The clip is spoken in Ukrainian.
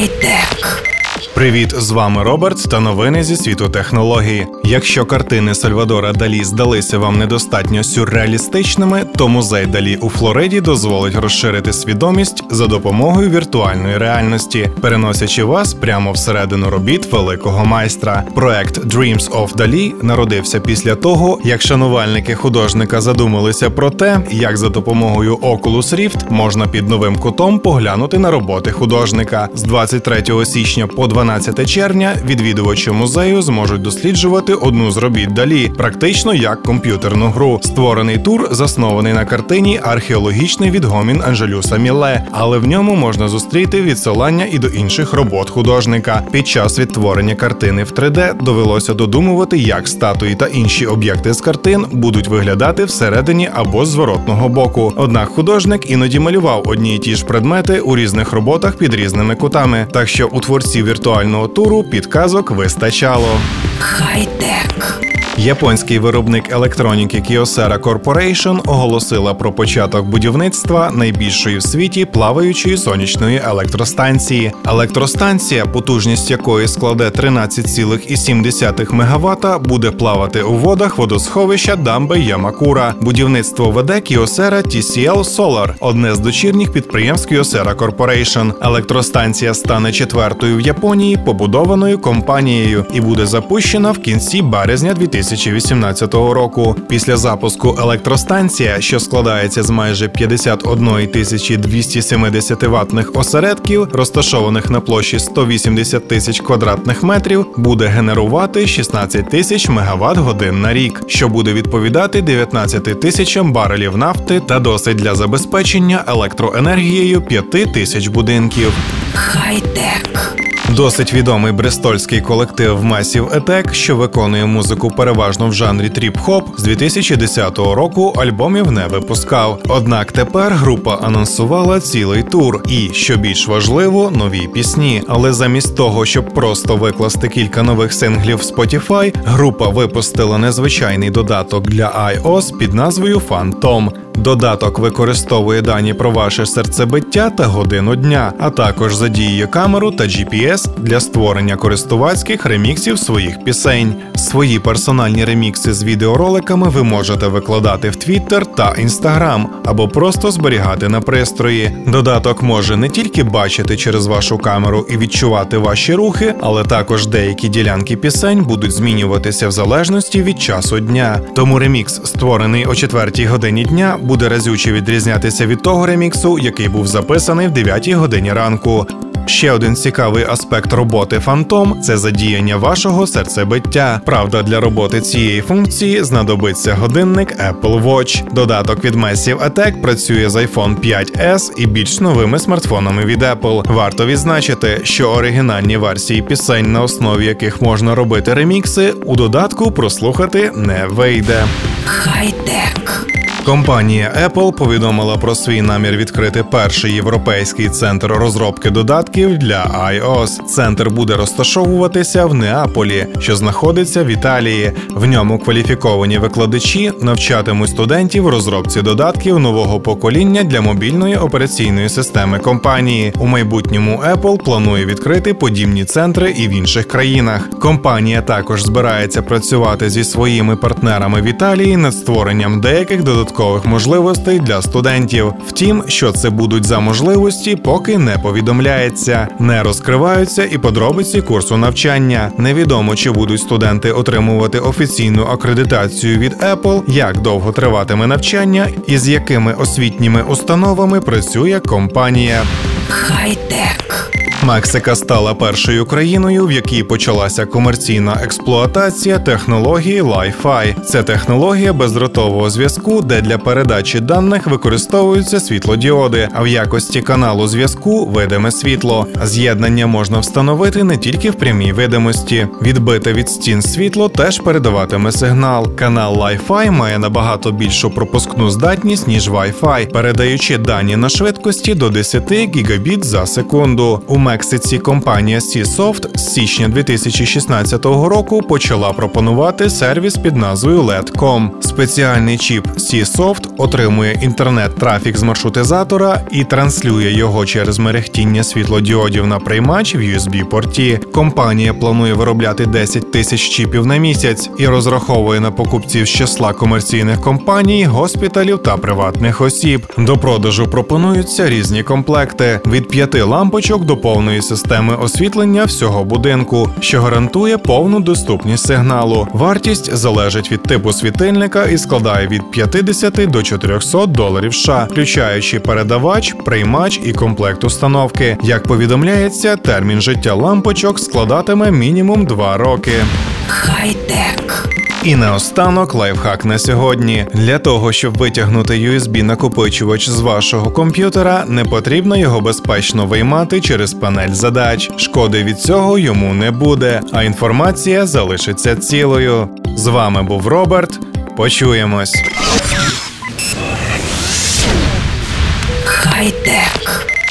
Хай-тек. Привіт, з вами Роберт та новини зі світу технологій. Якщо картини Сальвадора Далі здалися вам недостатньо сюрреалістичними, то музей Далі у Флориді дозволить розширити свідомість за допомогою віртуальної реальності, переносячи вас прямо всередину робіт великого майстра. Проект Dreams of Dali народився після того, як шанувальники художника задумалися про те, як за допомогою Oculus Rift можна під новим кутом поглянути на роботи художника. З 23 січня по 12 червня відвідувачі музею зможуть досліджувати одну з робіт Далі, практично як комп'ютерну гру. Створений тур заснований на картині «Археологічний відгомін Анжелюса Мілле», але в ньому можна зустріти відсилання і до інших робот художника. Під час відтворення картини в 3D довелося додумувати, як статуї та інші об'єкти з картин будуть виглядати всередині або з зворотного боку. Однак художник іноді малював одні й ті ж предмети у різних роботах під різними кутами, так що у творців віртуального туру підказок вистачало. Хай-тек. Японський виробник електроніки Kyocera Corporation оголосила про початок будівництва найбільшої в світі плаваючої сонячної електростанції. Електростанція, потужність якої складе 13,7 МВт, буде плавати у водах водосховища дамби Ямакура. Будівництво веде Kyocera TCL Solar, одне з дочірніх підприємств Kyocera Corporation. Електростанція стане четвертою в Японії, побудованою компанією, і буде запущена в кінці березня 2018 року. Після запуску електростанція, що складається з майже 51 270 ваттних осередків, розташованих на площі 180 тисяч квадратних метрів, буде генерувати 16 тисяч мегаватт-годин на рік, що буде відповідати 19 тисячам барелів нафти та досить для забезпечення електроенергією 5 тисяч будинків. Хай-тек. Досить відомий брестольський колектив Massive Attack, що виконує музику переважно в жанрі тріп-хоп, з 2010 року альбомів не випускав. Однак тепер група анонсувала цілий тур і, що більш важливо, нові пісні. Але замість того, щоб просто викласти кілька нових синглів в Spotify, група випустила незвичайний додаток для iOS під назвою Phantom. Додаток використовує дані про ваше серцебиття та годину дня, а також задіює камеру та GPS для створення користувацьких реміксів своїх пісень. Свої персональні ремікси з відеороликами ви можете викладати в Twitter та Instagram або просто зберігати на пристрої. Додаток може не тільки бачити через вашу камеру і відчувати ваші рухи, але також деякі ділянки пісень будуть змінюватися в залежності від часу дня. Тому ремікс, створений о 4 годині дня, буде разюче відрізнятися від того реміксу, який був записаний в 9 годині ранку. Ще один цікавий аспект роботи Phantom – це задіяння вашого серцебиття. Правда, для роботи цієї функції знадобиться годинник Apple Watch. Додаток від Massive Attack працює з iPhone 5s і більш новими смартфонами від Apple. Варто відзначити, що оригінальні версії пісень, на основі яких можна робити ремікси, у додатку прослухати не вийде. Хай-тек. Компанія Apple повідомила про свій намір відкрити перший європейський центр розробки додатків для iOS. Центр буде розташовуватися в Неаполі, що знаходиться в Італії. В ньому кваліфіковані викладачі навчатимуть студентів розробці додатків нового покоління для мобільної операційної системи компанії. У майбутньому Apple планує відкрити подібні центри і в інших країнах. Компанія також збирається працювати зі своїми партнерами в Італії над створенням деяких додаткових можливостей для студентів. Втім, що це будуть за можливості, поки не повідомляється. Не розкриваються і подробиці курсу навчання. Невідомо, чи будуть студенти отримувати офіційну акредитацію від Apple, як довго триватиме навчання і з якими освітніми установами працює компанія. Хай-тек. Мексика стала першою країною, в якій почалася комерційна експлуатація технології Li-Fi. Це технологія бездротового зв'язку, де для передачі даних використовуються світлодіоди, а в якості каналу зв'язку – видиме світло. З'єднання можна встановити не тільки в прямій видимості. Відбите від стін світло теж передаватиме сигнал. Канал Li-Fi має набагато більшу пропускну здатність, ніж Wi-Fi, передаючи дані на швидкості до 10 гігабіт за секунду. У Мексиці компанія C-Soft з січня 2016 року почала пропонувати сервіс під назвою LED.com. Спеціальний чіп C-Soft отримує інтернет-трафік з маршрутизатора і транслює його через мерехтіння світлодіодів на приймач в USB-порті. Компанія планує виробляти 10 тисяч чіпів на місяць і розраховує на покупців з числа комерційних компаній, госпіталів та приватних осіб. До продажу пропонуються різні комплекти – від 5 лампочок до повної системи освітлення всього будинку, що гарантує повну доступність сигналу. Вартість залежить від типу світильника і складає від 50 до $400 США, включаючи передавач, приймач і комплект установки. Як повідомляється, термін життя лампочок складатиме мінімум 2 роки. Хай-тек. І наостанок лайфхак на сьогодні. Для того, щоб витягнути USB-накопичувач з вашого комп'ютера, не потрібно його безпечно виймати через панель задач. Шкоди від цього йому не буде, а інформація залишиться цілою. З вами був Роберт. Почуємось. Хай-тек.